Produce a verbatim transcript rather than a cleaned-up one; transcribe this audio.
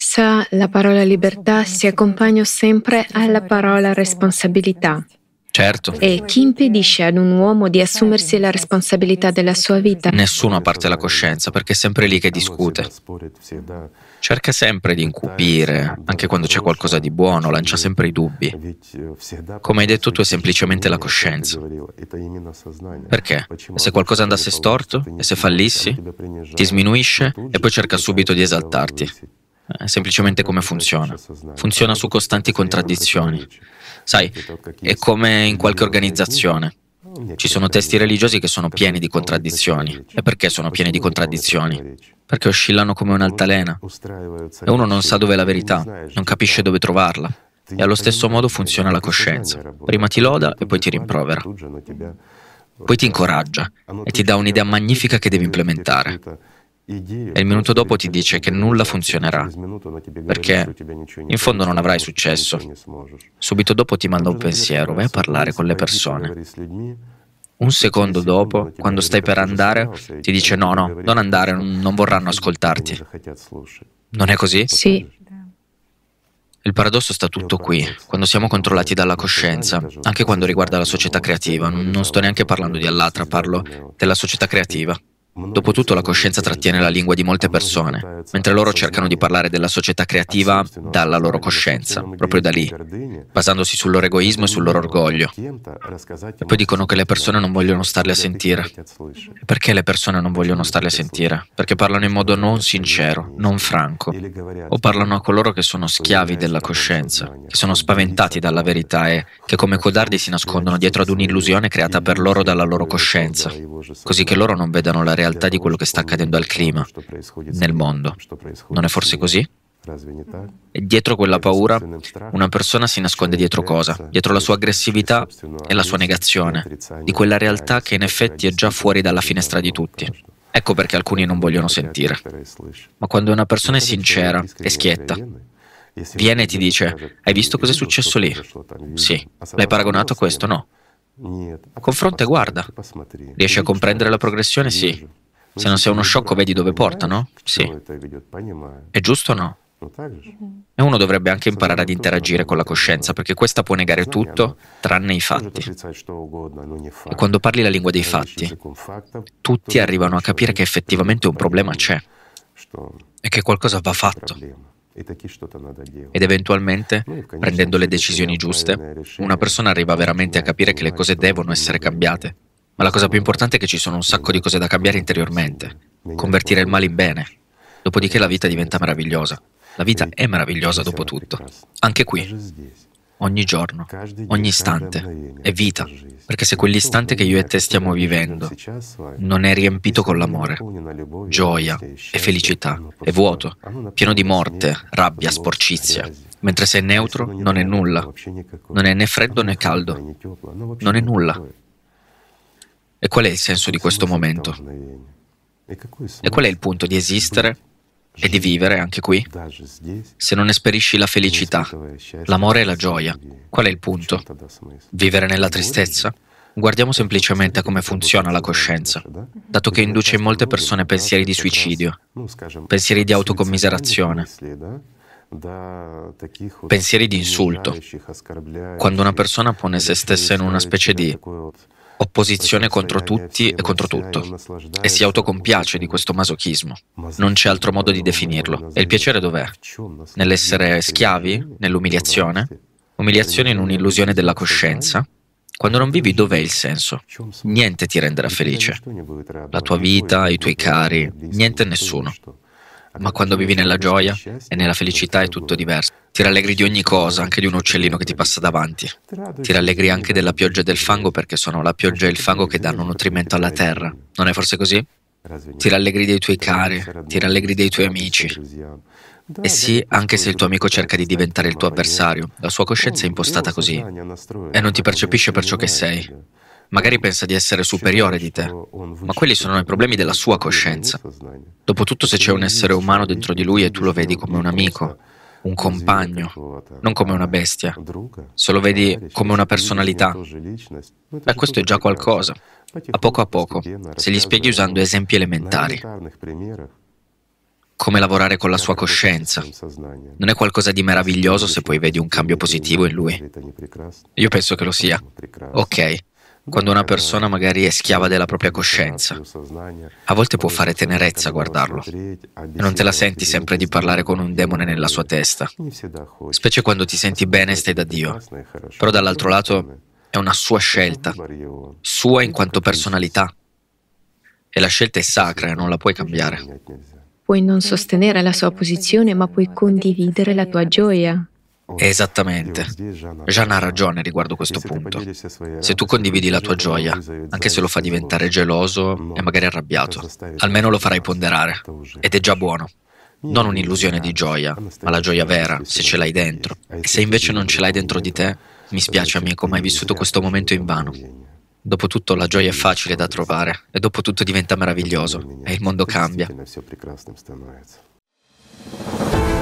stessa la parola libertà si accompagna sempre alla parola responsabilità. Certo. E chi impedisce ad un uomo di assumersi la responsabilità della sua vita? Nessuno a parte la coscienza, perché è sempre lì che discute. Cerca sempre di incupire, anche quando c'è qualcosa di buono, lancia sempre i dubbi. Come hai detto tu, è semplicemente la coscienza. Perché? E se qualcosa andasse storto, e se fallissi, ti sminuisce e poi cerca subito di esaltarti. È semplicemente come funziona. Funziona su costanti contraddizioni. Sai, è come in qualche organizzazione. Ci sono testi religiosi che sono pieni di contraddizioni. E perché sono pieni di contraddizioni? Perché oscillano come un'altalena. E uno non sa dove è la verità, non capisce dove trovarla. E allo stesso modo funziona la coscienza. Prima ti loda e poi ti rimprovera. Poi ti incoraggia e ti dà un'idea magnifica che devi implementare. E il minuto dopo ti dice che nulla funzionerà, perché in fondo non avrai successo. Subito dopo ti manda un pensiero, vai a parlare con le persone. Un secondo dopo, quando stai per andare, ti dice no, no, non andare, non vorranno ascoltarti. Non è così? Sì. Il paradosso sta tutto qui, quando siamo controllati dalla coscienza, anche quando riguarda la società creativa. Non sto neanche parlando di Allatra, parlo della società creativa. Dopotutto la coscienza trattiene la lingua di molte persone, mentre loro cercano di parlare della società creativa dalla loro coscienza, proprio da lì, basandosi sul loro egoismo e sul loro orgoglio. E poi dicono che le persone non vogliono starle a sentire. E perché le persone non vogliono starle a sentire? Perché parlano in modo non sincero, non franco, o parlano a coloro che sono schiavi della coscienza, che sono spaventati dalla verità e che come codardi si nascondono dietro ad un'illusione creata per loro dalla loro coscienza, così che loro non vedano la realtà di quello che sta accadendo al clima, nel mondo. Non è forse così? E dietro quella paura, una persona si nasconde dietro cosa? Dietro la sua aggressività e la sua negazione, di quella realtà che in effetti è già fuori dalla finestra di tutti. Ecco perché alcuni non vogliono sentire. Ma quando una persona è sincera e schietta, viene e ti dice, hai visto cosa è successo lì? Sì. L'hai paragonato a questo? No. Confronta e guarda. Riesci a comprendere la progressione? Sì. Se non sei uno sciocco vedi dove porta, no? Sì. È giusto o no? E uno dovrebbe anche imparare ad interagire con la coscienza, perché questa può negare tutto tranne i fatti. E quando parli la lingua dei fatti, tutti arrivano a capire che effettivamente un problema c'è e che qualcosa va fatto. Ed eventualmente, prendendo le decisioni giuste, una persona arriva veramente a capire che le cose devono essere cambiate. Ma la cosa più importante è che ci sono un sacco di cose da cambiare interiormente. Convertire il male in bene. Dopodiché la vita diventa meravigliosa. La vita è meravigliosa dopo tutto. Anche qui. Ogni giorno, ogni istante è vita. Perché se quell'istante che io e te stiamo vivendo non è riempito con l'amore, gioia e felicità, è vuoto, pieno di morte, rabbia, sporcizia. Mentre se è neutro non è nulla. Non è né freddo né caldo. Non è nulla. E qual è il senso di questo momento? E qual è il punto di esistere e di vivere anche qui? Se non esperisci la felicità, l'amore e la gioia, qual è il punto? Vivere nella tristezza? Guardiamo semplicemente a come funziona la coscienza, dato che induce in molte persone pensieri di suicidio, pensieri di autocommiserazione, pensieri di insulto. Quando una persona pone se stessa in una specie di opposizione contro tutti e contro tutto, e si autocompiace di questo masochismo. Non c'è altro modo di definirlo. E il piacere dov'è? Nell'essere schiavi? Nell'umiliazione? Umiliazione in un'illusione della coscienza? Quando non vivi, dov'è il senso? Niente ti renderà felice. La tua vita, i tuoi cari, niente e nessuno. Ma quando vivi nella gioia e nella felicità è tutto diverso. Ti rallegri di ogni cosa, anche di un uccellino che ti passa davanti. Ti rallegri anche della pioggia e del fango, perché sono la pioggia e il fango che danno nutrimento alla terra. Non è forse così? Ti rallegri dei tuoi cari, ti rallegri dei tuoi amici. E sì, anche se il tuo amico cerca di diventare il tuo avversario, la sua coscienza è impostata così e non ti percepisce per ciò che sei. Magari pensa di essere superiore di te, ma quelli sono i problemi della sua coscienza. Dopotutto, se c'è un essere umano dentro di lui e tu lo vedi come un amico, un compagno, non come una bestia, se lo vedi come una personalità, beh, questo è già qualcosa. A poco a poco, se gli spieghi usando esempi elementari. come lavorare con la sua coscienza. Non è qualcosa di meraviglioso se poi vedi un cambio positivo in lui? Io penso che lo sia. Ok, quando una persona magari è schiava della propria coscienza, a volte può fare tenerezza guardarlo e non te la senti sempre di parlare con un demone nella sua testa, specie quando ti senti bene e stai da Dio. Però dall'altro lato è una sua scelta, sua in quanto personalità, e la scelta è sacra e non la puoi cambiare. Puoi non sostenere la sua posizione, ma puoi condividere la tua gioia. Esattamente. Jeanne ha ragione riguardo questo punto. Se tu condividi la tua gioia, anche se lo fa diventare geloso e magari arrabbiato, almeno lo farai ponderare, ed è già buono. Non un'illusione di gioia, ma la gioia vera, se ce l'hai dentro. E se invece non ce l'hai dentro di te, mi spiace amico, ma hai vissuto questo momento invano. Dopotutto la gioia è facile da trovare e dopotutto diventa meraviglioso e il mondo cambia.